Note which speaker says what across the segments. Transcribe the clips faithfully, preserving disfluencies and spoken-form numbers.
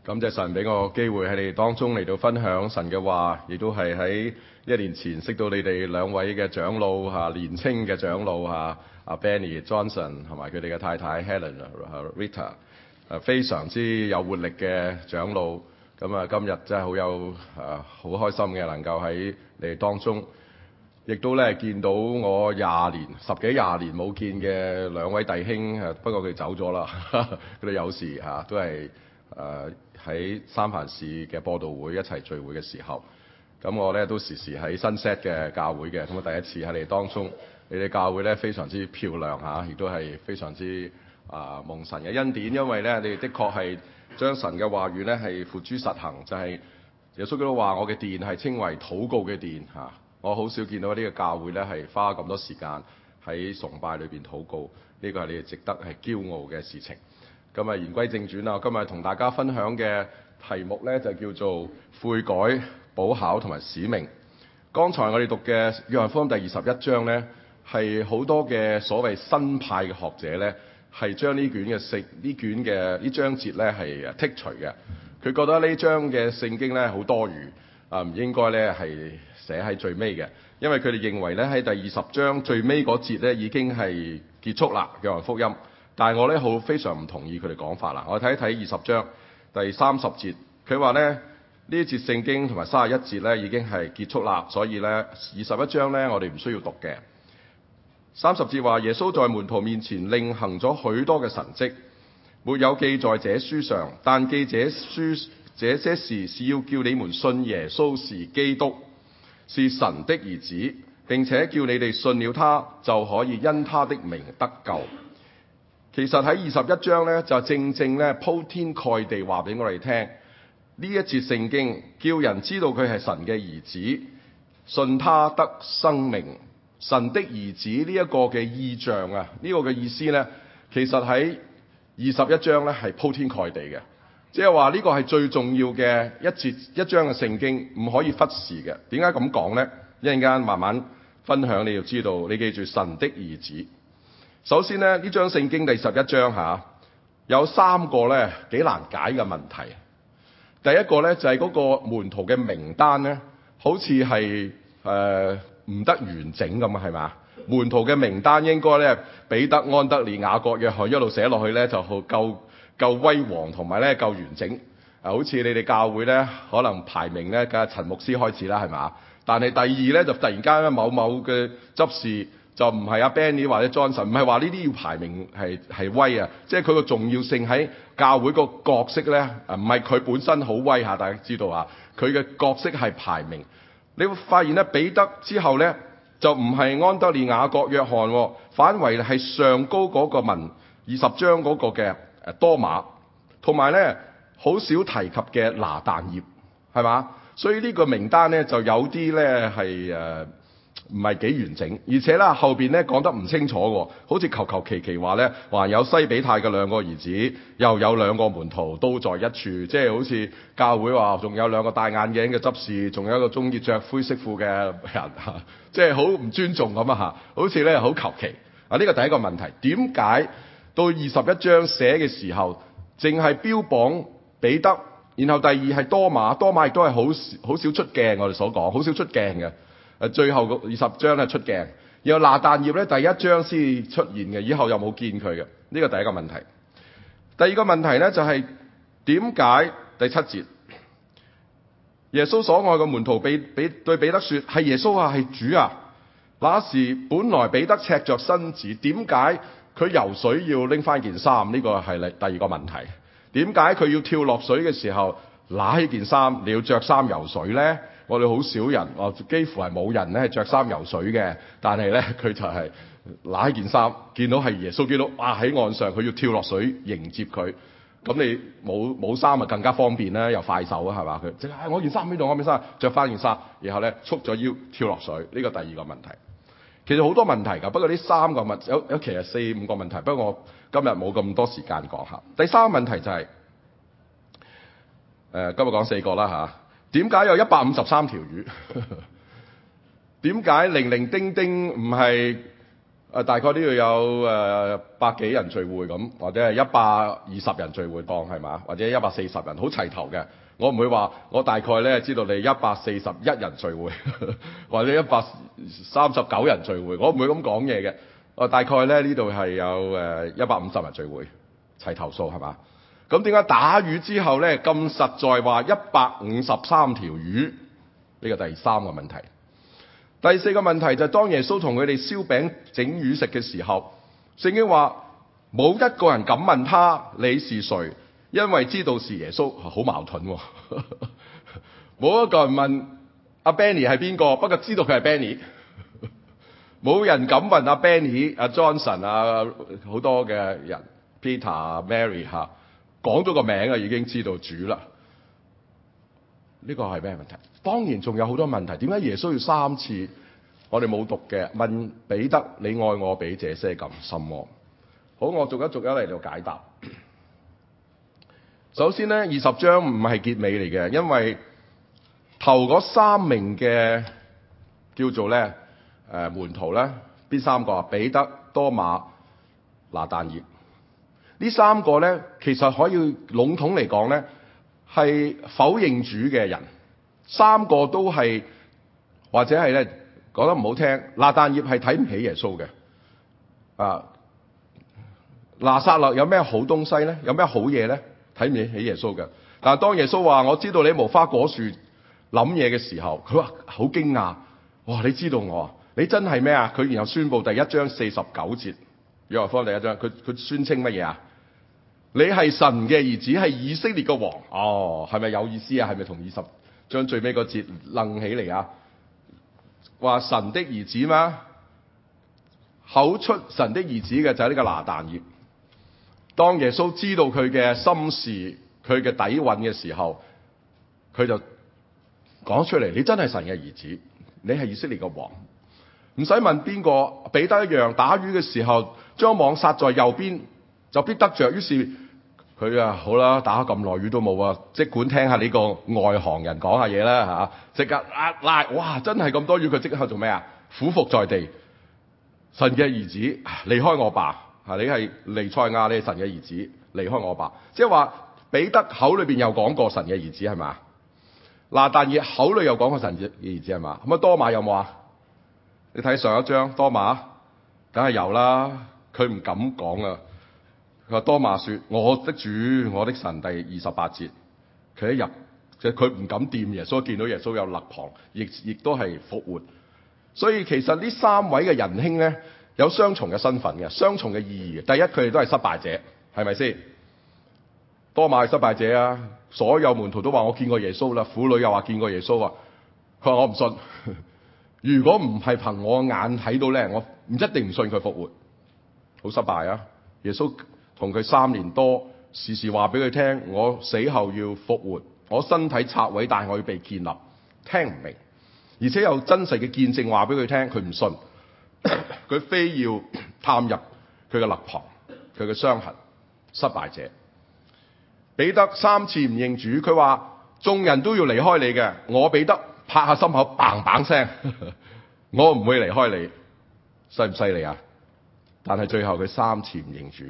Speaker 1: 感謝神俾我機會喺你哋當中嚟到分享神嘅話，亦都係喺一年前識到你哋兩位嘅長老嚇，年青嘅長老嚇，阿 Benny Johnson 同埋佢哋嘅太太 Helen Rita， 誒非常之有活力嘅長老。咁啊，今日真係好有誒好開心嘅，能夠喺你哋當中，亦都咧見到我廿年十幾廿年冇見嘅兩位弟兄，誒不過佢走咗啦，佢哋有時嚇都係誒喺三藩市嘅播道會一齊聚會嘅時候，咁我咧都時時喺新 set 嘅教會嘅，咁啊第一次喺你哋當中，你哋教會咧非常之漂亮嚇，亦都係非常之啊、呃、蒙神嘅恩典，因為咧你哋的確係將神嘅話語咧係付諸實行，就係、是、耶穌基督話我嘅殿係稱為禱告嘅殿嚇，我好少見到呢個教會咧係花咁多時間喺崇拜裏邊禱告，呢、這個係你哋值得係驕傲嘅事情。咁啊，言歸正傳啦，今日同大家分享嘅題目咧就叫做悔改、補考同埋使命。剛才我哋讀嘅約翰福音第二十一章咧，係好多嘅所謂新派嘅學者咧，係將呢卷嘅聖呢卷嘅呢章節咧係剔除嘅。佢覺得呢章嘅聖經咧好多餘，啊唔應該咧係寫喺最尾嘅，因為佢哋認為咧喺第二十章最尾嗰節咧已經係結束啦，約翰福音。但係我咧好非常唔同意佢哋講法啦。我睇一睇二十章第三十節，佢話咧呢一節聖經同埋三十一節咧已經係結束啦，所以咧二十一章咧我哋唔需要讀嘅。三十節話耶穌在門徒面前另行咗許多嘅神蹟，沒有記在這書上，但記這書這些事是要叫你們信耶穌是基督，是神的兒子，並且叫你哋信了他就可以因他的名得救。其實喺二十一章咧，就正正咧鋪天蓋地話俾我哋聽，呢一節聖經叫人知道佢係神嘅兒子，信他得生命。神的兒子呢一個嘅意象啊，呢、這個嘅意思咧，其實喺二十一章咧係鋪天蓋地嘅，即係話呢個係最重要嘅一節一章嘅聖經，唔可以忽視嘅。點解咁講咧？一陣間慢慢分享，你要知道，你記住神的兒子。首先咧，呢章聖經第十一章嚇、啊、有三個咧幾難解嘅問題。第一個咧就係、是、嗰個門徒嘅名單咧，好似係誒唔得完整咁啊，係嘛？門徒嘅名單應該咧彼得、安德烈、雅各、約翰一路寫落去咧就好夠夠威煌同埋咧夠完整。啊，好似你哋教會咧可能排名咧梗係陳牧師開始啦，係嘛？但係第二咧就突然間咧某某嘅執事。就唔係阿 Benny 或者 Johnson， 唔係話呢啲要排名係係威啊，即係佢個重要性喺教會個角色咧，唔係佢本身好威嚇，大家知道啊，佢嘅角色係排名。你會發現咧，彼得之後咧就唔係安德烈、雅各、約翰，反為係上高嗰個文二十章嗰個嘅誒多馬，同埋咧好少提及嘅拿但業，係嘛？所以呢個名單咧就有啲咧係誒。唔係幾完整，而且啦後邊咧講得唔清楚喎，好似求求其其話咧，還有西比泰嘅兩個兒子，又有兩個門徒都在一處，即係好似教會話仲有兩個戴眼鏡嘅執事，仲有一個中意着灰色褲嘅人嚇，即係好唔尊重咁啊嚇，好似咧好求其啊！呢個第一個問題，點解到二十一章寫嘅時候，淨係標榜彼得，然後第二係多馬，多馬亦都係好好少出鏡，我哋所講好少出鏡嘅。誒最後個二十章咧出鏡，然後拿但業咧第一章先出現嘅，以後又冇見佢嘅，呢個第一個問題。第二個問題咧就係點解第七節耶穌所愛嘅門徒比比對彼得説係耶穌啊，係主啊，那時本來彼得赤着身子，點解佢游水要拎翻件衫？呢個係第二個問題。點解佢要跳落水嘅時候揦起件衫，你要着衫游水咧？我哋好少人，我幾乎係冇人咧係著衫游水嘅，但係咧佢就係揦起件衫，見到係耶穌基督，哇喺岸上，佢要跳落水迎接佢。咁你冇冇衫啊更加方便啦，又快手啊，係嘛？佢即係我件衫喺度，我件衫着翻件衫，然後咧束咗腰跳落水。呢個第二個問題，其實好多問題㗎，不過呢三個問有有其實四五個問題，不過我今日冇咁多時間講下。第三個問題就係、是、誒、呃、今日講四個啦嚇。點解有一百五十三條魚？點解零零丁丁唔係誒大概都要有誒百幾人聚會咁，或者係一百二十人聚會當係嘛，或者一百四十人好齊頭嘅。我唔會話我大概咧知道你一百四十一人聚會，或者一百三十九人聚會，我唔會咁講嘢嘅。我大概咧呢度係有誒一百五十人聚會，齊頭數係嘛？咁點解打魚之後咧咁實在話一百五十三條魚？呢個第三個問題。第四個問題就係當耶穌同佢哋燒餅整魚食嘅時候，聖經話冇一個人敢問他你是誰，因為知道是耶穌，好矛盾喎。冇一個人問阿 Benny 係邊個，不過知道佢係 Benny。冇人敢問阿 Benny、阿 Johnson 啊，好多嘅人 Peter、Mary 嚇，講咗個名啊，已經知道主啦。呢個係咩問題？當然仲有好多問題。點解耶穌要三次我哋冇讀嘅問彼得你愛我比這些更深麼？好，我逐一逐一嚟到解答。首先咧，二十章唔係結尾嚟嘅，因為頭嗰三名嘅叫做咧誒、呃、門徒咧，邊三個啊？彼得、多馬、拿但業。呢三個咧，其實可以籠統嚟講咧，係否認主嘅人。三個都係或者係咧講得唔好聽，拿但業係睇唔起耶穌嘅。啊，拿撒勒有咩好東西咧？有咩好嘢咧？睇唔起耶穌嘅。但係當耶穌話我知道你無花果樹諗嘢嘅時候，佢話好驚訝。哇！你知道我啊？你真係咩啊？佢然後宣布第一章四十九節，約翰福音第一章，佢佢宣稱乜嘢啊？你係神嘅兒子，係以色列嘅王。哦，係咪有意思啊？係咪同二十將最尾個節楞起嚟啊？話神的兒子嘛，口出神的兒子嘅就係呢個拿但業。當耶穌知道佢嘅心事、佢嘅底蘊嘅時候，佢就講出嚟：你真係神嘅兒子，你係以色列嘅王。唔使問邊個，彼得一樣，打魚嘅時候將網撒在右邊，就必得着。於是佢啊，好啦，打咁耐魚都冇啊，即管聽下呢個外行人講下嘢啦嚇，即刻啊拉，哇！真係咁多魚，佢即刻做咩啊？俯伏在地，神嘅兒子，離開我吧！嚇，你係彌賽亞，你係神嘅兒子，離開我吧！即係話彼得口裏邊有講過神嘅兒子係嘛？拿但業口裏有講過神嘅兒子係嘛？咁啊多馬有冇啊？你睇上一章多馬，梗係有啦，佢唔敢講啊。佢話多馬說：我的主，我的神。第二十八節，佢一入，即係佢唔敢掂耶穌，見到耶穌有肋旁，亦亦都係復活。所以其實呢三位嘅仁兄咧，有雙重嘅身份嘅，雙重嘅意義。第一，佢哋都係失敗者，係咪先？多馬係失敗者啊！所有門徒都話我見過耶穌啦，婦女又話見過耶穌啊。佢話我唔信。如果唔係憑我眼睇到咧，我唔一定唔信佢復活。好失敗啊！耶穌同佢三年多，時時話俾佢聽，我死後要復活，我身體拆毀，但係我要被建立。聽唔明，而且有真實嘅見證話俾佢聽，佢唔信，佢非要探入佢嘅肋旁，佢嘅傷痕。失敗者彼得三次唔認主，佢話眾人都要離開你嘅，我彼得拍下心口，嘭嘭聲，我唔會離開你，犀唔犀利啊？但係最後佢三次唔認主。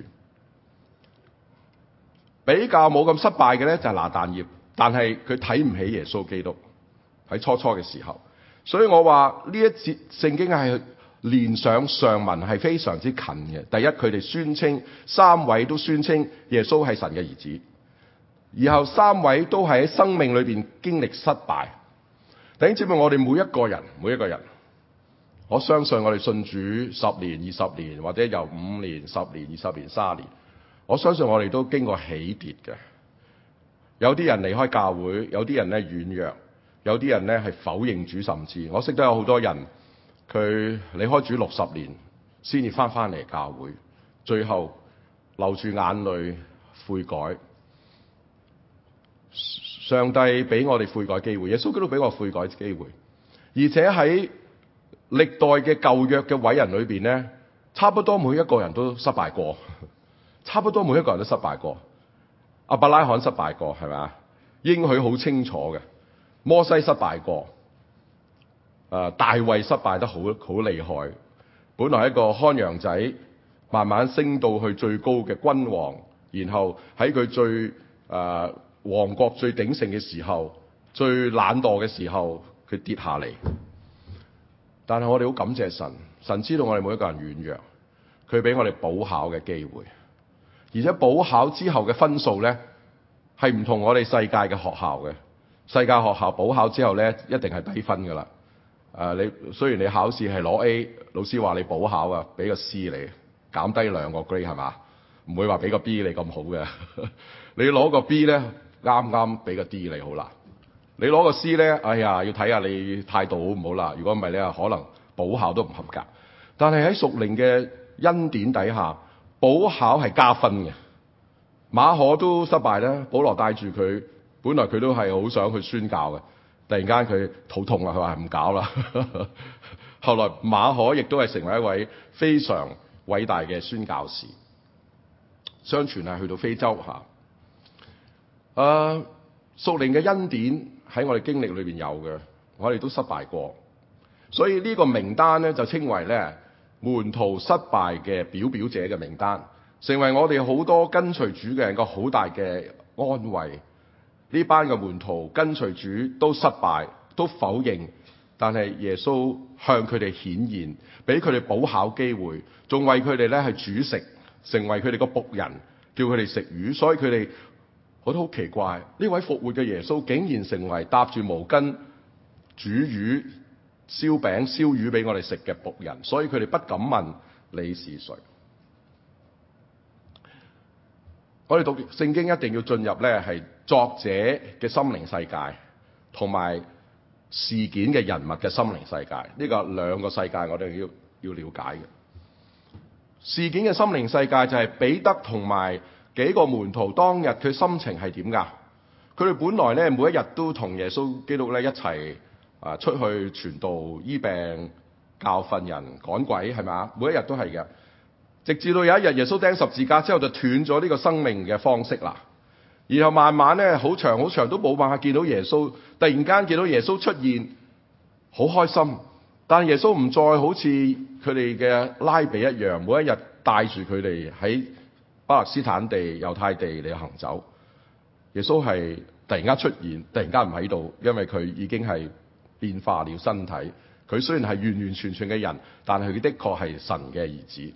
Speaker 1: 比較冇咁失敗嘅咧就係拿但業，但係佢睇唔起耶穌基督喺初初嘅時候，所以我話呢一節聖經係連上上文係非常之近嘅。第一，佢哋宣稱三位都宣稱耶穌係神嘅兒子，然後三位都係喺生命裏邊經歷失敗。弟兄姊妹，我哋每一個人每一個人，我相信我哋信主十年、二十年，或者由五年、十年、二十年、三十年。我相信我哋都經過起跌嘅，有啲人離開教會，有啲人咧軟弱，有啲人咧係否認主，甚至我識得有好多人，佢離開主六十年先至翻翻嚟教會，最後流住眼淚悔改。上帝俾我哋悔改機會，耶穌基督俾我悔改機會，而且喺歷代嘅舊約嘅偉人裏邊咧，差不多每一個人都失敗過。差不多每一個人都失敗過，亞伯拉罕失敗過，係咪啊？應許好清楚嘅，摩西失敗過，誒、呃、大衛失敗得好好厲害， 本來係一個看羊仔，慢慢升到去最高嘅君王，然後喺佢最誒、呃、王國最鼎盛嘅時候，最懶惰嘅時候，佢跌下嚟。但係我哋好感謝神，神知道我哋每一個人軟弱，佢俾我哋補考嘅機會，而且補考之後嘅分數呢，係唔同我哋世界嘅學校嘅。世界學校補考之後呢，一定係低分噶啦。誒、呃，你雖然你考試係攞 A，老師話你補考啊，俾個 C 你，減低兩個 grade 係嘛？唔會話俾個 B 你咁好嘅。你攞個 B 呢，啱啱俾個 D 你好啦。你攞個 C 呢，哎呀，要睇下你態度好唔好啦。如果唔係咧，可能補考都唔合格。但係喺屬靈嘅恩典底下，補考係加分嘅。馬可都失敗啦，保羅帶住佢，本來佢都係好想去宣教嘅，突然間佢肚痛啦，佢話唔搞啦。後來馬可亦都係成為一位非常偉大嘅宣教士，相傳係去到非洲嚇。誒、啊，屬靈嘅恩典喺我哋經歷裏邊有嘅，我哋都失敗過，所以呢個名單咧就稱為咧門徒失敗嘅表表者嘅名單，成為我哋好多跟隨主嘅人個好大嘅安慰。呢班嘅門徒跟隨主都失敗，都否認，但係耶穌向佢哋顯現，俾佢哋補考機會，仲為佢哋咧係煮食，成為佢哋個僕人，叫佢哋食魚。所以佢哋我都好奇怪，呢位復活嘅耶穌竟然成為搭住毛巾煮魚、燒餅、燒魚俾我哋食嘅僕人，所以佢哋不敢問你是誰。我哋讀聖經一定要進入咧係作者嘅心靈世界，同埋事件嘅人物嘅心靈世界，呢個兩個世界我哋要要了解嘅。事件嘅心靈世界就係彼得同埋幾個門徒當日佢心情係點㗎？佢哋本來咧每一日都同耶穌基督咧一齊啊出去傳道、醫病、教訓人、趕鬼，係咪啊？每一日都係嘅。直至到有一日耶穌釘十字架之後，就斷咗呢個生命嘅方式啦。然後慢慢咧好長好長都冇辦法見到耶穌，突然間見到耶穌出現，好開心。但耶穌唔再好似佢哋嘅拉比一樣，每一日帶住佢哋喺巴勒斯坦地、猶太地嚟行走。耶穌係突然間出現，突然間唔喺度，因為佢已經係變化了身體。佢雖然係完完全全嘅人，但係佢的確係神嘅兒子。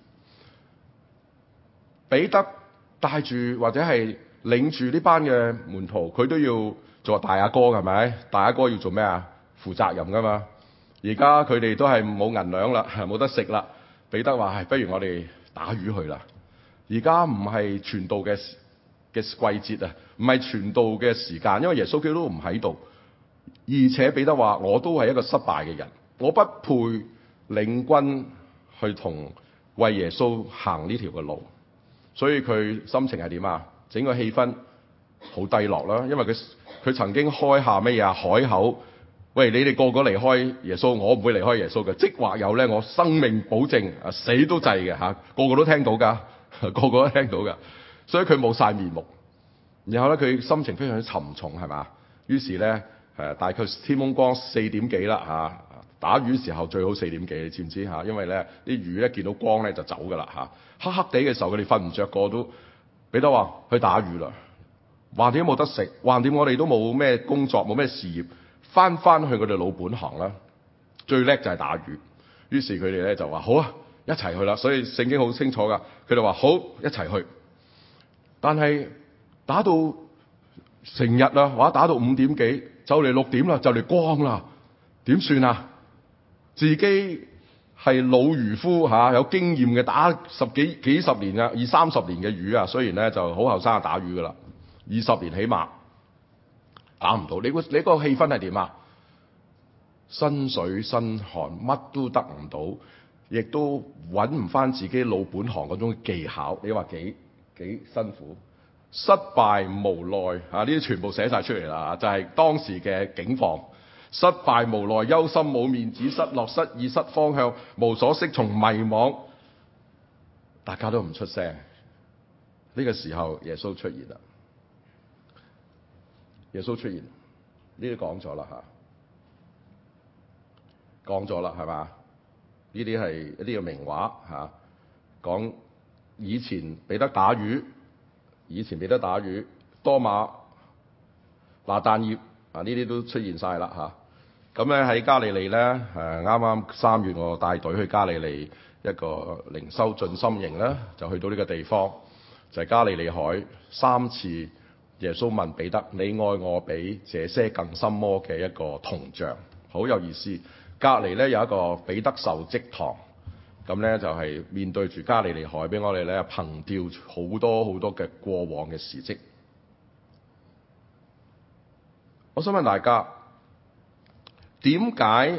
Speaker 1: 彼得帶住或者係領住呢班嘅門徒，佢都要做大阿哥，係咪？大阿哥要做咩啊？負責任噶嘛。而家佢哋都係冇銀兩啦，冇得食啦。彼得話：係不如我哋打魚去啦。而家唔係傳道嘅嘅季節啊，唔係傳道嘅時間，因為耶穌基督都唔喺度。而且彼得話：我都係一個失敗嘅人，我不配領軍去同為耶穌行呢條嘅路。所以佢心情係點啊？整個氣氛好低落啦，因為佢佢曾經開下咩啊海口，喂，你哋個個離開耶穌，我唔會離開耶穌嘅，即或有咧，我生命保證啊，死都制嘅嚇，個個都聽到噶，個個都聽到噶，所以佢冇晒面目。然後咧，佢心情非常之沉重，係嘛？於是咧誒，大概天蒙光四點幾啦嚇。打魚時候最好四點幾，你知唔知嚇？因為咧啲魚咧見到光咧就走噶啦嚇。黑黑地嘅時候，佢哋瞓唔着個都。彼得話去打魚啦，橫掂冇得食，橫掂我哋都冇咩工作，冇咩事業，翻翻去佢哋老本行啦。最叻就係打魚。於是佢哋咧就話好啊，一齊去啦。所以聖經好清楚噶，佢哋話好一齊去。但係打到成日啦，或者打到五點幾，就嚟六點啦，就嚟光啦，點算啊？自己係老漁夫嚇、啊，有經驗嘅，打十幾幾十年啊，二三十年嘅魚啊，雖然咧就好後生打魚噶啦，二十年起碼打唔到。你個你個氣氛係點啊？身水身汗，乜都得唔到，亦都揾唔翻自己老本行嗰種技巧。你話幾幾辛苦？失敗無奈啊！呢啲全部寫晒出嚟啦，就係、是、當時嘅境況。失敗無奈、憂心冇面子、失落失意、失方向、無所適從、迷惘，大家都唔出聲。呢、這個時候耶穌出現啦，耶穌出現，呢啲講咗啦嚇，講咗啦係嘛？ 呢啲係一啲嘅名畫嚇，講以前彼得打魚，以前彼得打魚，多馬、拿但業啊，呢啲都出現晒啦嚇。咁咧喺加利利咧，誒啱啱三月我帶隊去加利利一個靈修進深營啦，就去到呢個地方，就係、是、加利利海三次耶穌問彼得：你愛我比這些更深麼？嘅一個銅像，好有意思。隔離咧有一個彼得受職堂，咁咧就係、是、面對住加利利海，俾我哋咧憑吊好多好多嘅過往嘅事蹟。我想問大家，點解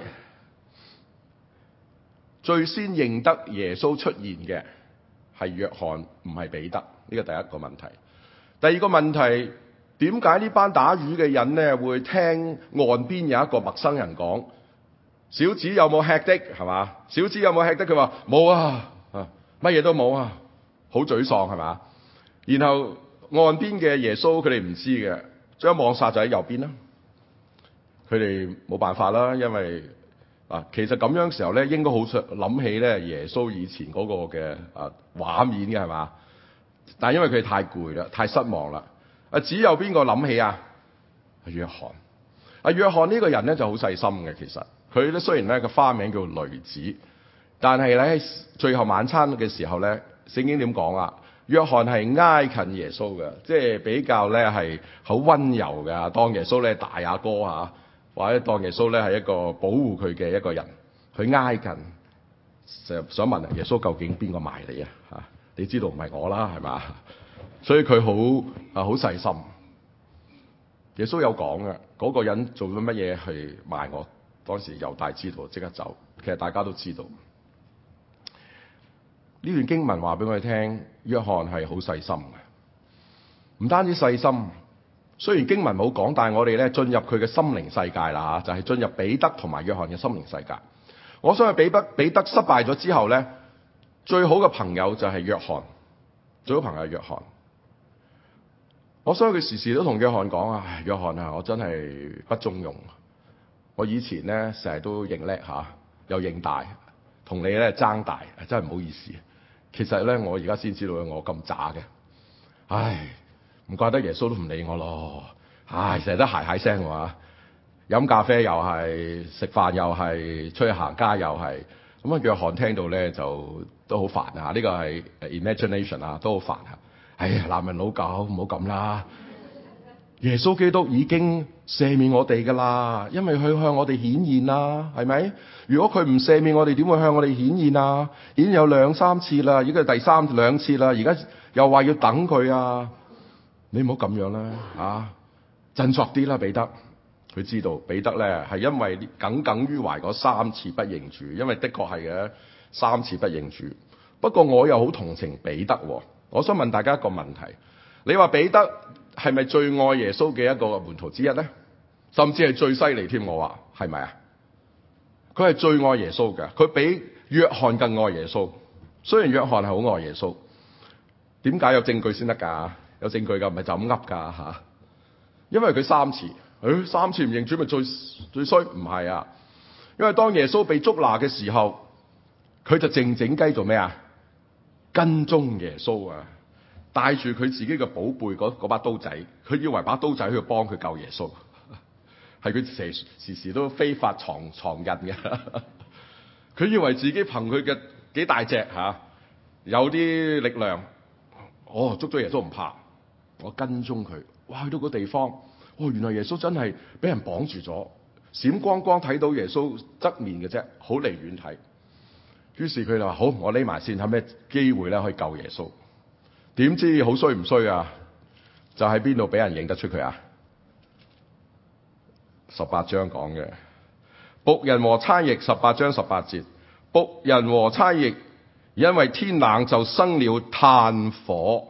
Speaker 1: 最先認得耶穌出現嘅係約翰，唔係彼得？呢個第一個問題。第二個問題，點解呢班打魚嘅人咧會聽岸邊有一個陌生人講：小子有冇吃的？係嘛？小子有冇吃的？佢話冇啊，啊乜嘢都冇啊，好沮喪係嘛？然後岸邊嘅耶穌佢哋唔知嘅，將網撒就喺右邊啦。佢哋冇辦法啦，因為啊，其實咁樣時候咧，應該好想諗起咧耶穌以前嗰個嘅啊畫面嘅係嘛？但係因為佢哋太攰啦，太失望啦。啊，只有邊個諗起啊？約翰。啊，約翰呢個人咧就好細心嘅，其實佢咧雖然咧個花名叫雷子，但係咧喺最後晚餐嘅時候咧，聖經點講啊？約翰係挨近耶穌嘅，即係比較咧係好溫柔嘅，當耶穌咧大阿哥嚇。或者當耶穌咧係一個保護佢嘅一個人，佢挨近，就想問耶穌究竟邊個賣你啊？嚇，你知道唔係我啦，係嘛？所以佢好啊好細心。耶穌有講嘅，嗰個人做咗乜嘢去賣我？當時猶大知道，即刻走。其實大家都知道。呢段經文話俾我哋聽，約翰係好細心嘅，唔單止細心。雖然經文冇講，但係我哋咧進入佢嘅心靈世界啦嚇，就係、是、進入彼得同埋約翰嘅心靈世界。我相信彼得彼得失敗咗之後咧，最好嘅朋友就係約翰，最好朋友係約翰。我相信佢時時都同約翰講啊，約翰啊，我真係不中用。我以前咧成日都認叻嚇，又認大，同你咧爭大，真係唔好意思。其實咧，我而家先知道我咁渣嘅，唉。唔怪得耶穌都唔理我咯，唉，成日都鞋鞋聲喎，飲咖啡又係，食飯又係，出去行街又係，咁啊約翰聽到咧就都好煩啊，呢個係 imagination 啊，都好煩啊，哎呀男人老狗唔好咁啦，耶穌基督已經赦免我哋噶啦，因為佢向我哋顯現啦，係咪？如果佢唔赦免我哋，點會向我哋顯現啊？已經有兩三次啦，已經係第三兩次啦，而家又話要等佢啊！你唔好咁樣啦，啊，振作啲啦，彼得。佢知道彼得咧係因為耿耿於懷嗰三次不認主，因為的確係嘅三次不認主。不過我又好同情彼得喎。我想問大家一個問題：你話彼得係咪最愛耶穌嘅一個門徒之一咧？甚至係最犀利添？我話係咪啊？佢係最愛耶穌嘅，佢比約翰更愛耶穌。雖然約翰係好愛耶穌，點解有證據先得㗎？有證據㗎，唔係就咁噏㗎嚇。因為佢三次，誒、哎、三次唔認主咪最最衰？唔係啊，因為當耶穌被捉拿嘅時候，佢就靜靜雞做咩啊？跟蹤耶穌啊，帶住佢自己嘅寶貝嗰把刀仔，佢以為把刀仔去幫佢救耶穌，係佢時時時都非法藏藏印嘅。佢以為自己憑佢嘅幾大隻嚇、啊，有啲力量，哦捉咗耶穌唔怕。我跟蹤佢，哇！去到個地方，哦，原來耶穌真係俾人綁住咗，閃光光睇到耶穌側面嘅啫，好離遠睇。於是佢就話：好，我匿埋先，睇咩機會咧可以救耶穌。點知好衰唔衰啊？就喺邊度俾人認得出佢啊？十八章講嘅僕人和差役，十八章十八節，僕人和差役因為天冷就生了炭火。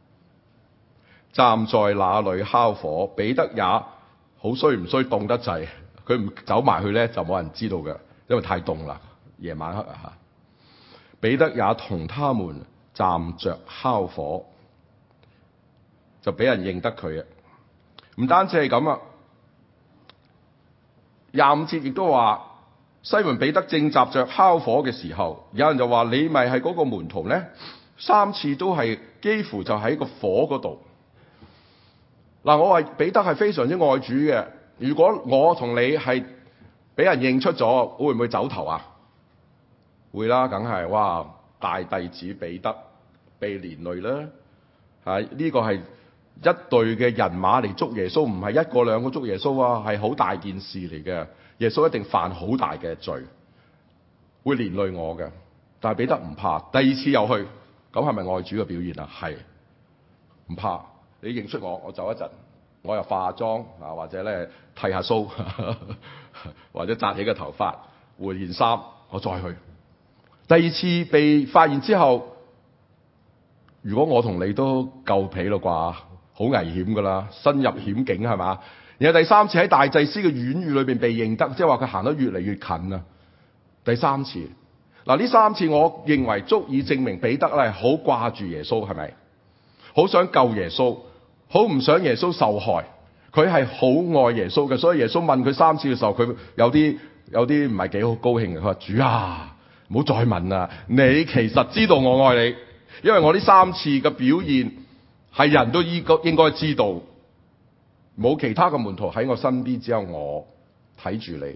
Speaker 1: 站在那裏烤火，彼得也好衰唔衰，凍得滯，佢唔走埋去咧就冇人知道嘅，因為太凍啦，夜晚黑啊。彼得也同他們站着烤火，就俾人認得佢啊。唔單止係咁啊，廿五節亦都話西門彼得正集着烤火嘅時候，有人就話你咪係嗰個門徒呢？三次都係幾乎就喺個火嗰度。嗱，我話彼得係非常之愛主嘅。如果我同你係俾人認出咗，會唔會走頭啊？會啦，梗係。哇，大弟子彼得被連累啦。係呢個係一隊嘅人馬嚟捉耶穌，唔係一個兩個捉耶穌啊，係好大件事嚟嘅。耶穌一定犯好大嘅罪，會連累我嘅。但係彼得唔怕，第二次又去，咁係咪愛主嘅表現啊？係，唔怕。你認出我，我走一陣，我又化下妝啊，或者咧剃下鬚，或者紮起個頭髮，換件衫，我再去。第二次被發現之後，如果我同你都夠皮咯啩，好危險噶啦，身入險境係嘛？然後第三次喺大祭司嘅院宇裏邊被認得，即係話佢行得越嚟越近啊。第三次，嗱呢三次我認為足以證明彼得咧好掛住耶穌，係咪？好想救耶穌，好唔想耶穌受害。佢係好愛耶穌嘅，所以耶穌問佢三次嘅時候，佢有啲有啲唔係幾好高興嘅。佢話：主啊，唔好再問啦，你其實知道我愛你，因為我呢三次嘅表現係人都應該應該知道。冇其他嘅門徒喺我身邊，只有我睇住你。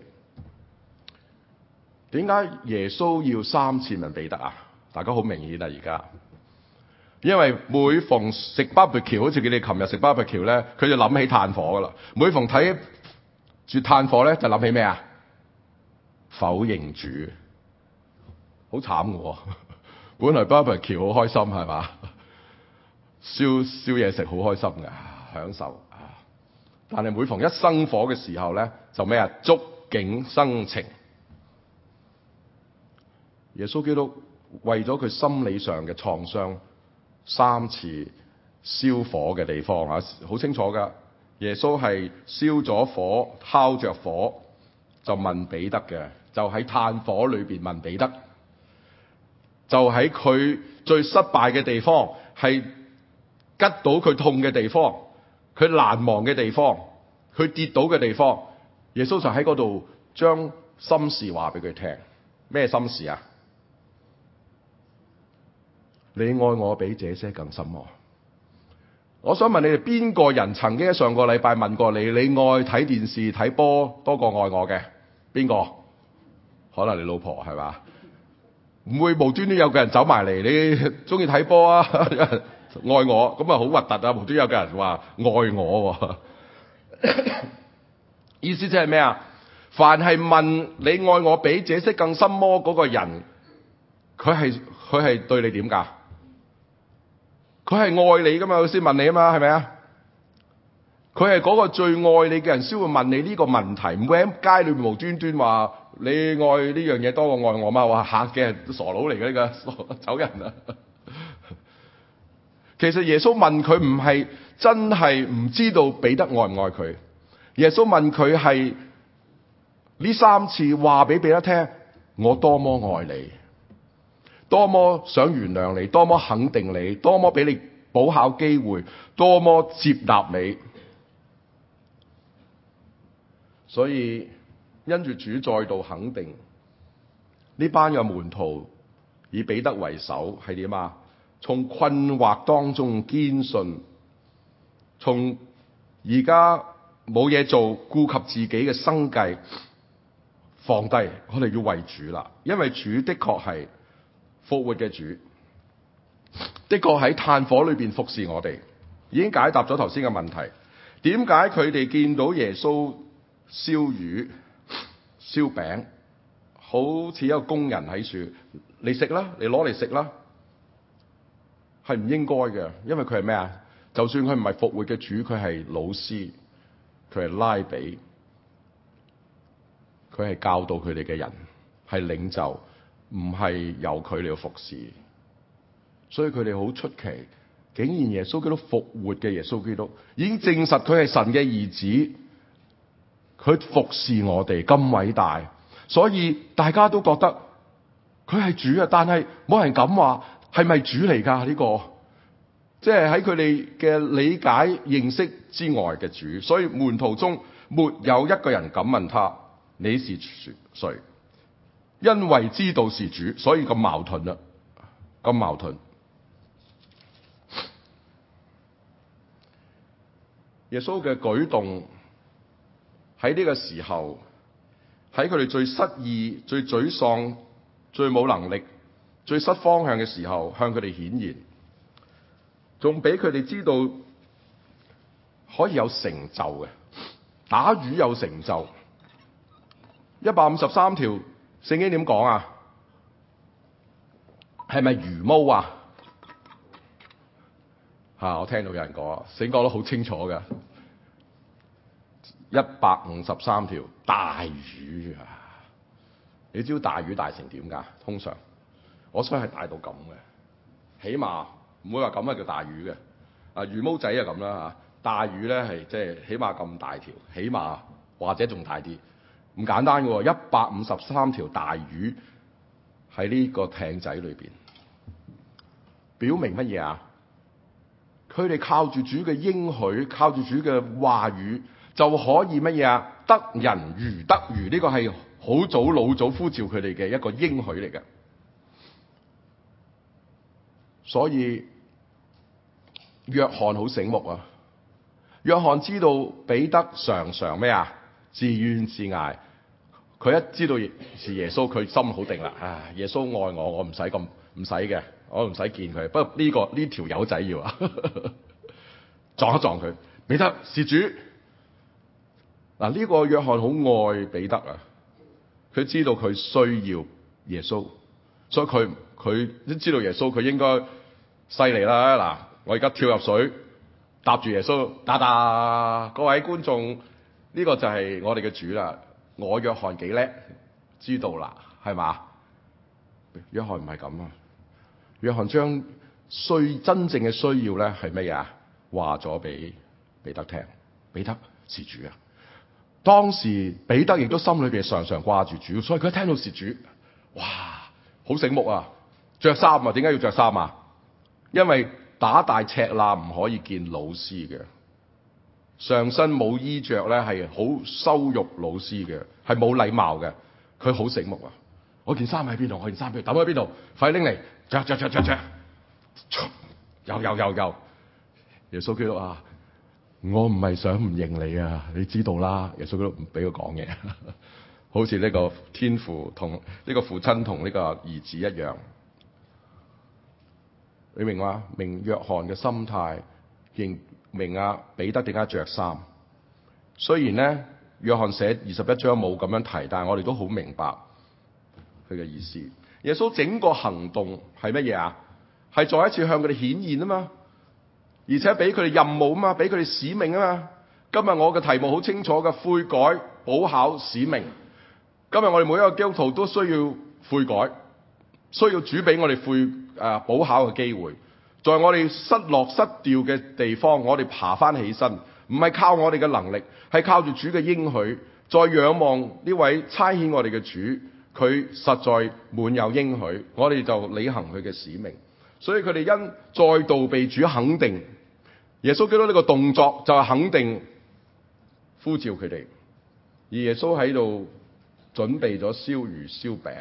Speaker 1: 點解耶穌要三次問彼得啊？大家好明顯啊，而家，因為每逢食 barbecue， 好似佢哋琴日食 barbecue 咧，佢就諗起炭火噶啦。每逢睇住炭火咧，就諗起咩啊？否認主，好慘嘅。本來 barbecue 好開心係嘛，燒燒嘢食好開心嘅，享受。但係每逢一生火嘅時候咧，就咩啊？觸景生情。耶穌基督為咗佢心理上嘅創傷，三次燒火嘅地方啊，好清楚噶。耶穌係燒咗火，烤着火，就問彼得嘅，就喺炭火裏邊問彼得，就喺佢最失敗嘅地方，係吉到佢痛嘅地方，佢難忘嘅地方，佢跌倒嘅地方，耶穌就喺嗰度將心事話俾佢聽。咩心事啊？你愛我比這些更深愛。我想問你哋邊個人曾經喺上個禮拜問過你，你愛睇電視睇波多過愛我嘅？邊個？可能你老婆係嘛？唔會無端端有個人走埋嚟，你中意睇波啊？愛我，咁啊好核突啊！無端有個人話愛我，啊，意思即係咩啊？凡係問你愛我比這些更深麼嗰個人，佢係佢係對你點噶？佢係愛你噶嘛？佢先問你啊嘛，係咪啊？佢係嗰個最愛你嘅人先會問你呢個問題，唔會喺街裏面無端端話你愛呢樣嘢多過愛我嘛？話嚇嘅傻佬嚟嘅呢個走人啊！其實耶穌問佢唔係真係唔知道彼得愛唔愛佢，耶穌問佢係呢三次話俾彼得聽，我多麼愛你，多麼想原諒你，多麼肯定你，多麼俾你補考機會，多麼接納你。所以因住主再度肯定呢班嘅門徒，以彼得為首，係點啊？從困惑當中堅信，從而家冇嘢做，顧及自己嘅生計，放低，我哋要為主啦。因為主的確係復活嘅主，的確喺炭火裏邊服侍我哋，已經解答咗頭先嘅問題。點解佢哋見到耶穌燒魚、燒餅，好似一個工人喺處，你食啦，你攞嚟食啦，係唔應該嘅。因為佢係咩啊？就算佢唔係復活嘅主，佢係老師，佢係拉比，佢係教導佢哋嘅人，係領袖，唔係由佢嚟服侍。所以佢哋好出奇，竟然耶穌基督復活嘅耶穌基督已經證實佢係神嘅兒子，佢服侍我哋咁偉大，所以大家都覺得佢係主啊！但係冇人敢話係咪主嚟㗎？呢個即係喺佢哋嘅理解認識之外嘅主，所以門徒中沒有一個人敢問他，你是誰？ 因為知道是主，所以咁矛盾啦，咁矛盾。耶穌嘅舉動喺呢個時候，喺佢哋最失意、最沮喪、最冇能力、最失方向嘅時候，向佢哋顯現，仲俾佢哋知道可以有成就嘅，打魚有成就。一百五十三條聖經點講啊？係咪魚毛啊？吓、啊，我聽到有人講，聖經講得好清楚嘅。一百五十三條大魚啊！你知道大魚大成點噶？通常我想係大到咁嘅，起碼唔會話咁啊叫大魚嘅。啊魚毛仔啊咁啦吓，大魚咧係即係起碼咁大條，起碼或者仲大啲。唔簡單嘅喎，一百五十三條大魚喺呢個艇仔裏邊，表明乜嘢啊？佢哋靠住主嘅應許，靠住主嘅話語，就可以乜嘢啊？得人如得魚，呢個係好早老早呼召佢哋嘅一個應許嚟嘅。所以約翰好醒目啊！約翰知道彼得常常咩啊？自怨自艾。佢一知道是耶穌，佢心好定啦。啊，耶穌愛我，我唔使咁唔使嘅，我唔使見佢。不過呢、這個呢條友仔要啊，撞一撞佢。彼得是主。嗱，呢個約翰好愛彼得啊！佢知道佢需要耶穌，所以佢佢都知道耶穌，佢應該犀利啦。嗱，我而家跳入水，搭住耶穌，噠噠。各位觀眾，呢、這個就係我哋嘅主啦。我約翰幾叻，知道啦，係嘛？約翰唔係咁啊！約翰將需真正嘅需要咧係咩啊？話咗俾彼得聽，彼得是主啊！當時彼得亦都心裏邊常常掛住主，所以佢一聽到是主，哇，好醒目啊！着衫啊，點解要着衫啊？因為打大赤肋唔可以見老師嘅。上身冇衣着咧，係好羞辱老師嘅，係冇禮貌嘅。佢好醒目啊！我件衫喺邊度？我件衫喺邊度？抌喺邊度？快拎嚟！着着着着着！又又又又！耶穌基督啊！我唔係想唔認你啊！你知道啦，耶穌基督唔俾佢講嘢，好似呢個天父同呢個父親同呢個兒子一樣。你明嘛？明約翰嘅心態，認明啊彼得點解着衫？雖然咧約翰寫二十一章冇咁樣提，但係我哋都好明白佢嘅意思。耶穌整個行動係乜嘢啊？係再一次向佢哋顯現啊嘛，而且俾佢哋任務啊嘛，俾佢哋使命啊嘛。今日我嘅題目好清楚嘅，悔改、補考、使命。今日我哋每一個基督徒都需要悔改，需要主俾我哋悔誒補考嘅機會。在我哋失落失掉嘅地方，我哋爬翻起身，唔係靠我哋嘅能力，係靠住主嘅應許。再仰望呢位差遣我哋嘅主，佢實在滿有應許，我哋就履行佢嘅使命。所以佢哋因再度被主肯定，耶穌基督呢個動作就係肯定呼召佢哋，而耶穌喺度準備咗燒魚燒餅。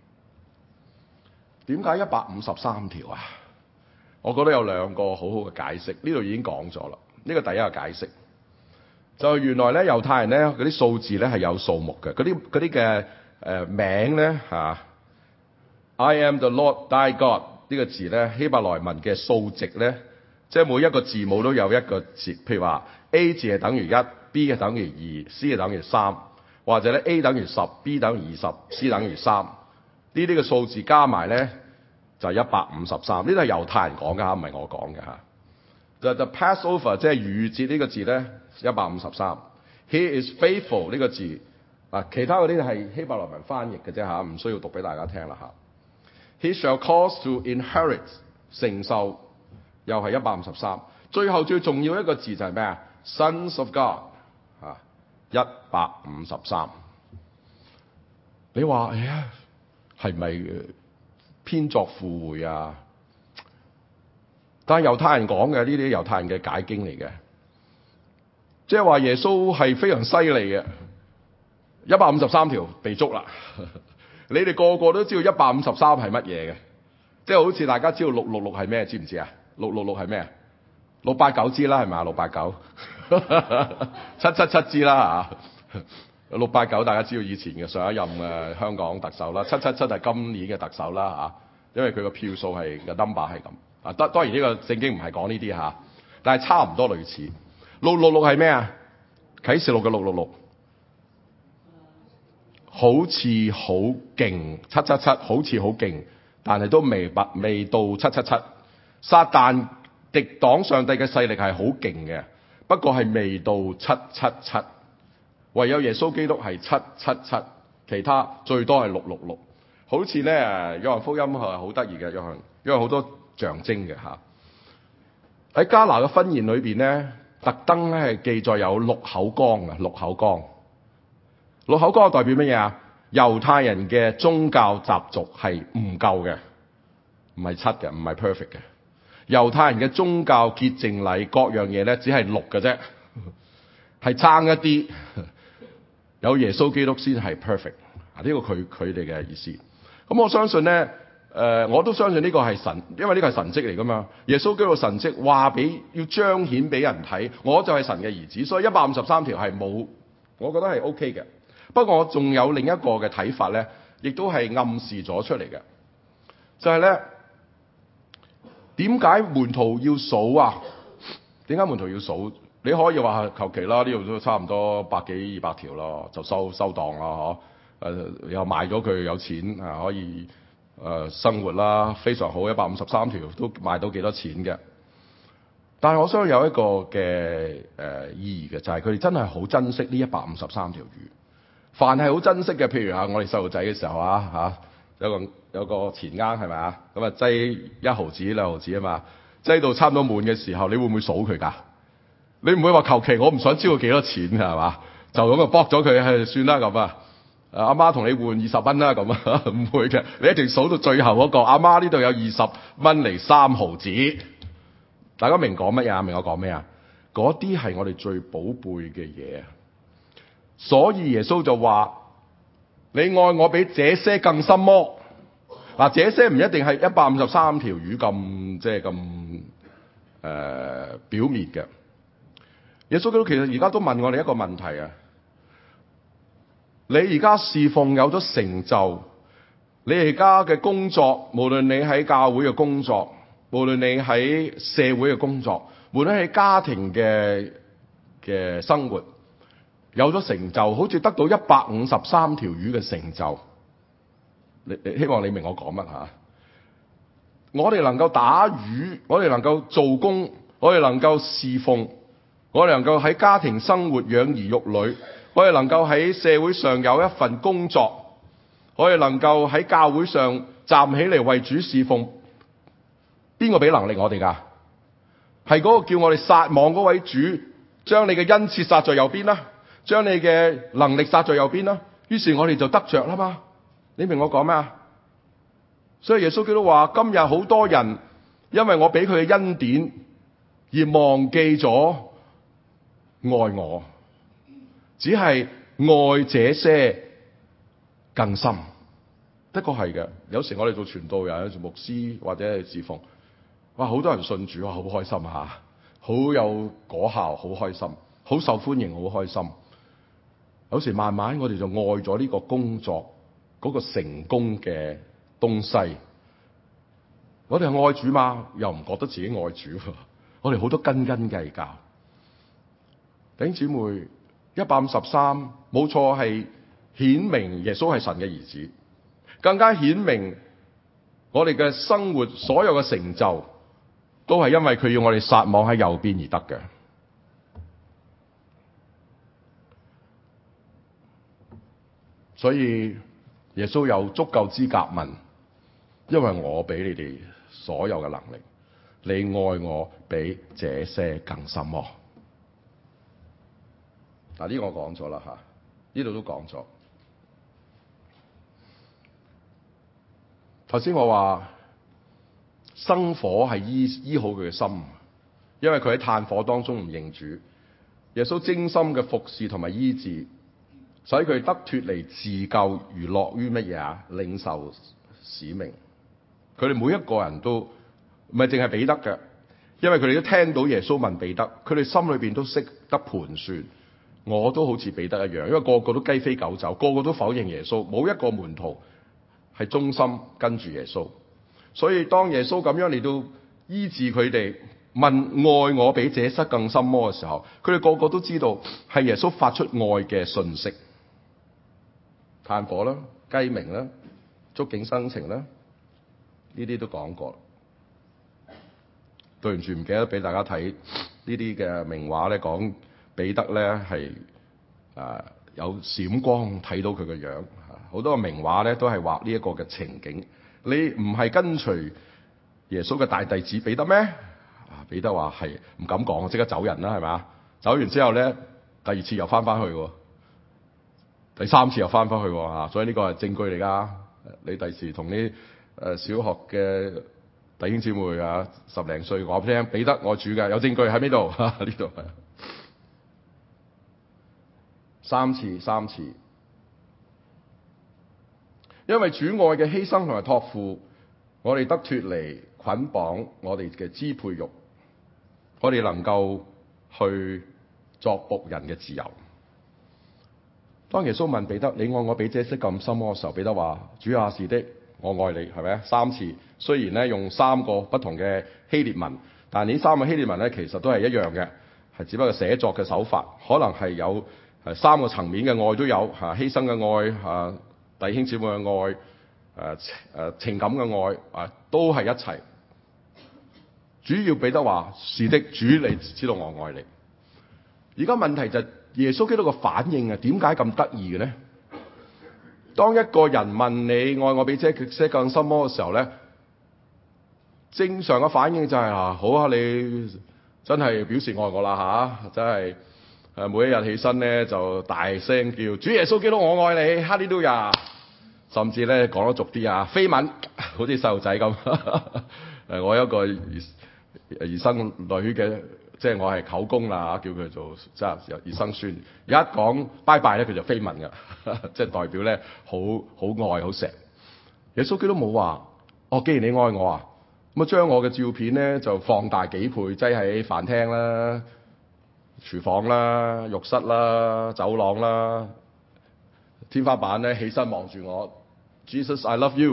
Speaker 1: 點解一百五十三條啊？我覺得有兩個好好嘅解釋，呢度已經講咗啦。呢個第一個解釋就係原來咧猶太人咧嗰啲數字咧係有數目嘅，嗰啲嗰啲嘅誒名咧嚇 I am the Lord thy God 呢個字咧希伯來文嘅數值咧，即係每一個字母都有一個字，譬如話 A 字係等於一 ，B 係等於二 ，C 係等於三，或者咧 A 等於十 ，B 等於二十 ，C 等於三，呢啲嘅數字加埋咧就係一百五十三，呢啲係猶太人講嘅嚇，唔係我講嘅嚇。就 the Passover 即係逾節呢個字咧，一百五十三。He is faithful 呢個字啊，其他嗰啲係希伯來文翻譯嘅啫嚇，唔需要讀俾大家聽啦嚇。He shall cause to inherit 承受又係一百五十三。最後最重要一個字就係咩啊 ？Sons of God 啊，一百五十三。你話哎呀，係咪編作附會啊？但係猶太人講嘅呢啲猶太人嘅解經嚟嘅，即係話耶穌係非常犀利嘅，一百五十三條被捉啦。 你哋個個都知道一百五十三係乜嘢嘅，即係好似大家知道六六六係咩，知唔知啊？六六六係咩？六八九知啦，係咪啊？六八九，七七七知啦嚇。六八九大家知道以前嘅上一任嘅香港特首啦，七七七係今年嘅特首啦嚇，因為佢個票數係個 number 係咁。啊，當當然呢個聖經唔係講呢啲嚇，但係差唔多類似。六六六係咩啊？啟示錄嘅六六六，好似好勁，七七七好似好勁，但係都未拔未到七七七。撒旦敵擋上帝嘅勢力係好勁嘅，不過係未到七七七。唯有耶穌基督係七七七，其他最多係六六六。好似咧誒約翰福音係好得意嘅，約翰因為好多象徵嘅嚇。喺迦拿嘅婚宴裏邊咧，特登咧係記載有六口缸啊，六口缸。六口缸代表乜嘢啊？猶太人嘅宗教習俗係唔夠嘅，唔係七嘅，唔係 perfect 嘅。猶太人嘅宗教潔淨禮各樣嘢咧，只係六嘅啫，係差一啲。有耶穌基督先係 perfect， 啊呢個佢佢哋嘅意思。咁我相信咧，誒、呃、我都相信呢個係神，因為呢個係神蹟嚟噶嘛。耶穌基督神蹟話俾要彰顯俾人睇，我就係神嘅兒子，所以一百五十三條係冇，我覺得係 OK 嘅。不過我仲有另一個嘅睇法咧，亦都係暗示咗出嚟嘅，就係咧點解門徒要數啊？點解門徒要數？你可以話求其啦，呢度都差唔多百幾二百條咯，就收收檔啦，嗬、啊？誒又賣咗佢有錢啊，可以誒、呃、生活啦，非常好，一百五十三條都賣到幾多錢嘅。但係我相信有一個嘅誒、呃、意義嘅，就係佢哋真係好珍惜呢一百五十三條魚。凡係好珍惜嘅，譬如啊，我哋細路仔嘅時候啊，嚇有個有個錢罌係咪啊？咁啊擠一毫子兩毫子啊嘛，擠到差唔多滿嘅時候，你會唔會數佢㗎？你唔會話求其我唔想知道幾多錢係嘛？就咁啊卜咗佢係算啦咁啊！阿媽同你換二十蚊啦咁啊，唔會嘅，你一定數到最後嗰個。阿媽呢度有二十蚊嚟三毫子，大家明講乜嘢？明我講咩啊？嗰啲係我哋最寶貝嘅嘢，所以耶穌就話：你愛我比這些更深麼？嗱，這些唔一定係一百五十三條魚咁即係咁誒表面嘅。耶穌基督其實而家都問我哋一個問題啊！你而家侍奉有咗成就，你而家嘅工作，無論你喺教會嘅工作，無論你喺社會嘅工作，無論喺家庭嘅嘅生活，有咗成就，好似得到一百五十三條魚嘅成就。你希望你明我講乜吓？我哋能夠打魚，我哋能夠做工，我哋能夠侍奉。我哋能夠喺家庭生活養兒育女，我哋能夠喺社會上有一份工作，我哋能夠喺教會上站起嚟為主侍奉，邊個俾能力我哋㗎？係嗰個叫我哋撒網嗰位主，將你嘅恩賜撒在右邊啦，將你嘅能力撒在右邊啦，於是我哋就得着啦嘛。你明我講咩啊？所以耶穌基督話：今日好多人因為我俾佢嘅恩典而忘記咗愛我，只係愛這些更深。的確係嘅，有時我哋做傳道人、做牧師或者係侍奉，哇，好多人信主，哇，好開心吓，好有果效，好開心，好受歡迎，好開心。有時慢慢我哋就愛咗呢個工作嗰個成功嘅東西。我哋係愛主嘛，又唔覺得自己愛主，我哋好多斤斤計較。弟兄姊妹，一百五十三冇錯，係顯明耶穌係神嘅兒子，更加顯明我哋嘅生活所有嘅成就都係因為佢要我哋撒網喺右邊而得嘅。所以耶穌有足夠資格問：因為我俾你哋所有嘅能力，你愛我比這些更深麼？嗱，呢個我講咗啦吓，呢度都講咗。頭先我話生火係醫醫好佢嘅心，因為佢喺炭火當中唔認主。耶穌精心嘅服侍同埋醫治， 使佢得脫離自救而樂於乜嘢啊？領受使命。佢哋每一個人都唔係淨係彼得嘅，因為佢哋都聽到耶穌問彼得，佢哋心裏邊都識得盤算。我都好似彼得一樣，因為個個都雞飛狗走，個個都否認耶穌，冇一個門徒係忠心跟住耶穌。所以當耶穌咁樣嚟到醫治佢哋，問愛我比這塞更深麼嘅時候，佢哋個個都知道係耶穌發出愛嘅訊息。炭火啦、雞鳴啦、觸景生情啦，呢啲都講過。對唔住，唔記得俾大家睇呢啲嘅名畫咧，講彼得咧係誒有閃光睇到佢嘅樣。好多個名畫咧都係畫呢一個嘅情景。你唔係跟隨耶穌嘅大弟子彼得咩？啊，彼得話係，唔敢講，即刻走人啦，係咪？走完之後咧，第二次又翻翻去喎，第三次又翻返去喎嚇，所以呢個係證據嚟㗎。你第時同啲誒小學嘅弟兄姊妹啊，十零歲話俾你聽，彼得愛主嘅，有證據喺呢度嚇，呢度係三次三次。因為主愛嘅犧牲同埋託付，我哋得脫離捆綁我哋嘅支配慾，我哋能夠去作僕人嘅自由。當耶穌問彼得：你愛我比這些咁深麼嘅時候，彼得話：主啊，是的，我愛你，係咪啊？三次，雖然咧用三個不同嘅希臘文，但係呢三個希臘文咧其實都係一樣嘅，係只不過寫作嘅手法，可能係有誒三個層面嘅愛都有嚇，犧牲嘅愛嚇。弟兄姊妹嘅愛，誒、呃、誒、呃、情感嘅愛，啊、呃、都係一齊。主要彼得話：是的，主你知道我愛你。而家問題就係耶穌基督嘅反應啊，點解咁得意嘅咧？當一個人問你愛我比這些更深麼嘅時候咧，正常嘅反應就係、是、啊，好啊，你真係表示愛我啦嚇、啊，真係。誒每一日起身咧就大聲叫主耶穌基督我愛你，哈利路亞，甚至咧講得俗啲啊，飛吻，好似細路仔咁。誒我有一個兒兒生女嘅，即係我係舅公啦，叫佢做即係兒生孫。一講拜拜咧，佢就飛吻㗎，即係代表咧好好愛好錫。耶穌基督冇話，哦，既然你愛我啊，咁啊將我嘅照片咧就放大幾倍，擠喺飯廳啦、廚房啦、浴室啦、走廊啦、天花板咧，起身望住我 ，Jesus I love you 。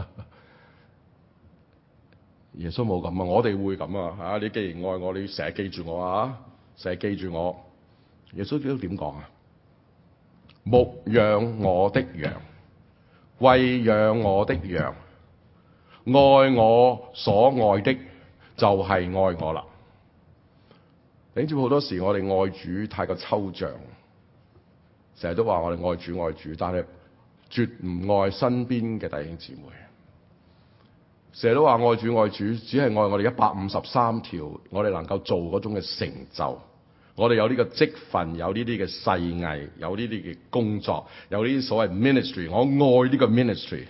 Speaker 1: 耶穌冇咁啊，我哋會咁啊嚇！你既然愛我，你成日記住我啊，成日記住我。耶穌基督點講啊？牧養我的羊，餵養我的羊，愛我所愛的，就係愛我啦。你知好多時我哋愛主太過抽象，成日都話我哋愛主愛主，但係絕唔愛身邊嘅弟兄姊妹。成日都話愛主愛主，只係愛我哋一百五十三條，我哋能夠做嗰種嘅成就。我哋有呢個職分，有呢啲嘅細藝，有呢啲嘅工作，有呢啲所謂 ministry。我愛呢個 ministry，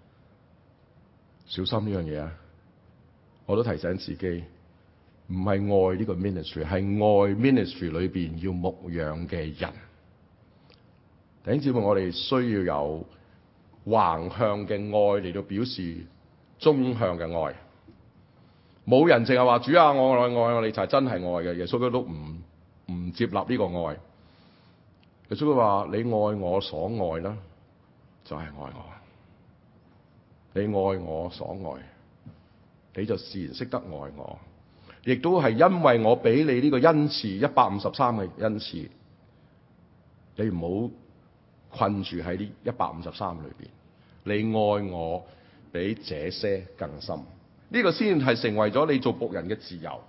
Speaker 1: 小心呢樣嘢啊！我都提醒自己。唔係愛呢個 ministry，係愛 ministry 裏邊要牧養嘅人。弟兄姊妹，我哋需要有橫向嘅愛嚟到表示縱向嘅愛。冇人淨係話主啊，我愛愛我，你就係真係愛嘅。耶穌基督都唔唔接納呢個愛。耶穌佢話：你愛我所愛啦，就係愛我。你愛我所愛，你就自然識得愛我。亦都係因為我俾你呢個恩賜一百五十三嘅恩賜，你唔好困住喺呢一百五十三裏邊。你愛我比這些更深，呢、這個先係成為咗你做僕人嘅自由。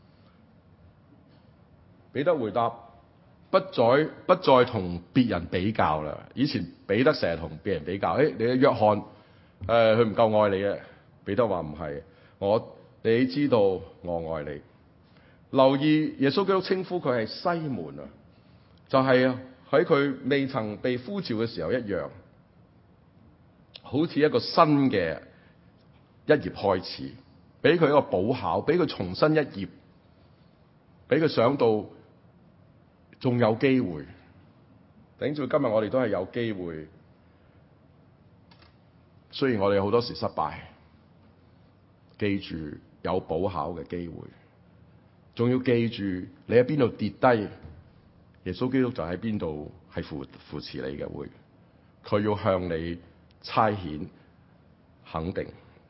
Speaker 1: 彼得回答：不再不再同別人比較啦。以前彼得成日同別人比較，誒、哎，你嘅約翰，誒、呃，佢唔夠愛你嘅。彼得話唔係，我。你知道我愛你。留意耶穌基督稱呼佢係西門啊，就係喺佢未曾被呼召嘅時候一樣，好似一個新嘅一頁開始，俾佢一個補考，俾佢重新一頁，俾佢想到仲有機會。 頂住今日我哋都係有機會，雖然我哋好多時失敗，記住有補考嘅機會，仲要記住你喺邊度跌低，耶穌基督就喺邊度係扶扶持你嘅會，佢要向你差遣肯定。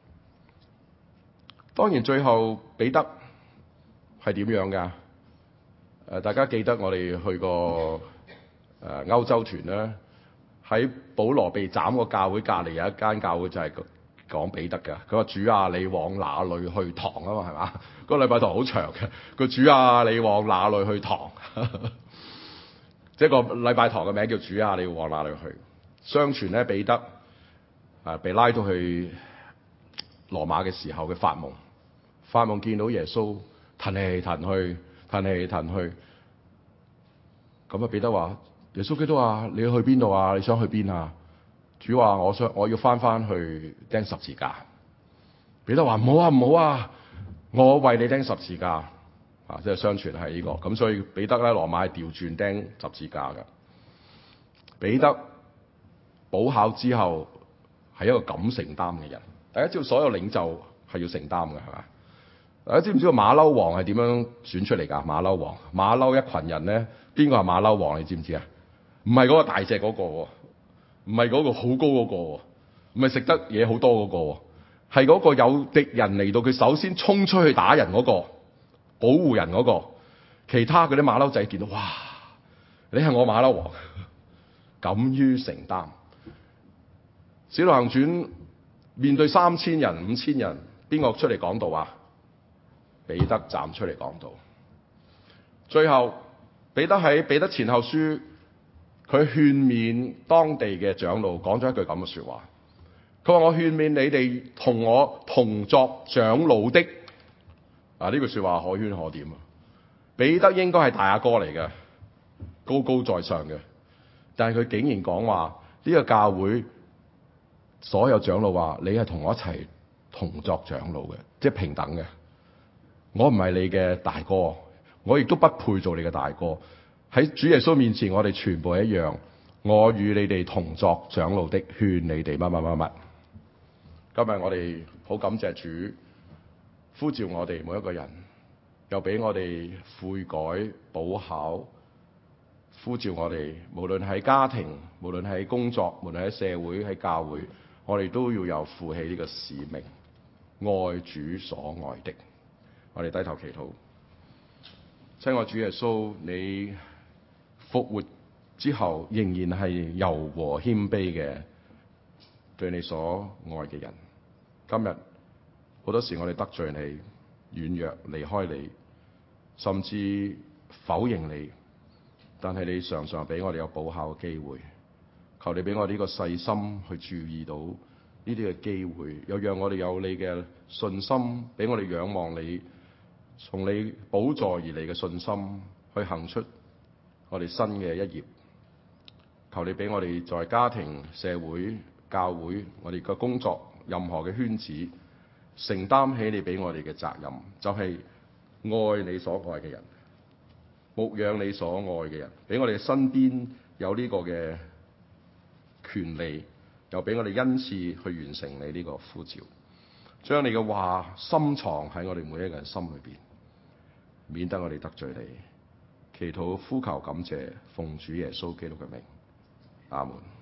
Speaker 1: 當然最後彼得係點樣㗎？誒，大家記得我哋去過誒歐洲團啦，喺保羅被斬個教會隔離有一間教會就係講彼得㗎。佢話：主啊，你往哪裏去堂啊嘛？係嘛？嗰個禮拜堂好長嘅。個主啊，你往哪裏去堂？即係個禮拜堂嘅名叫主啊，你要往哪裏去？相傳咧，彼得啊被拉到去羅馬嘅時候嘅發夢，發夢見到耶穌騰嚟騰去，騰嚟騰去。咁啊，彼得話：耶穌基督啊，你要去邊度啊？你想去邊啊？主話：我想我要翻翻去釘十字架。彼得話：唔好啊，唔好啊，我為你釘十字架。啊，即係相傳係呢個。咁所以彼得咧，羅馬係調轉釘十字架嘅。彼得補考之後係一個敢承擔嘅人。大家知道所有領袖係要承擔嘅，係嘛？大家知唔知道馬騮王係點樣選出嚟㗎？馬騮王，馬騮一群人咧。邊個係馬騮王？你知唔知啊？唔係嗰個大隻嗰個，唔係嗰個好高嗰個，唔係食得嘢好多嗰個，係嗰個有敵人嚟到，佢首先衝出去打人嗰個，保護人嗰個。其他嗰啲馬騮仔見到，哇！你係我馬騮王，敢於承擔。使徒行傳面對三千人、五千人，邊個出嚟講道啊？彼得站出嚟講道。最後。彼得喺彼得前後書，佢勸勉當地嘅長老，講咗一句咁嘅說話。佢話：我勸勉你哋同我同作長老的。啊，呢句說話可圈可點啊！彼得應該係大阿哥嚟嘅，高高在上嘅，但係佢竟然講話呢個教會所有長老話：你係同我一齊同作長老嘅，即係平等嘅。我唔係你嘅大哥。我亦都不配做你嘅大哥，喺主耶穌面前，我哋全部一樣。我與你哋同作長老的，勸你哋乜乜乜乜。今日我哋好感謝主呼召我哋每一個人，又俾我哋悔改補考，呼召我哋無論喺家庭，無論喺工作，無論喺社會，喺教會，我哋都要有負起呢個使命，愛主所愛的。我哋低頭祈禱。親愛主耶穌，你復活之後仍然係柔和謙卑嘅，對你所愛嘅人。今日好多時我哋得罪你，軟弱離開你，甚至否認你，但係你常常俾我哋有補考嘅機會。求你俾我哋呢個細心去注意到呢啲嘅機會，又讓我哋有你嘅信心，俾我哋仰望你，從你寶座而嚟嘅信心，去行出我哋新嘅一頁。求你俾我哋在家庭、社會、教會，我哋嘅工作，任何嘅圈子，承擔起你俾我哋嘅責任，就係愛你所愛嘅人，牧養你所愛嘅人，俾我哋身邊有呢個嘅權利，又俾我哋恩賜去完成你呢個呼召，將你嘅話深藏喺我哋每一個人心裏邊，免得我哋得罪你。祈禱呼求感謝，奉主耶穌基督嘅名，阿門。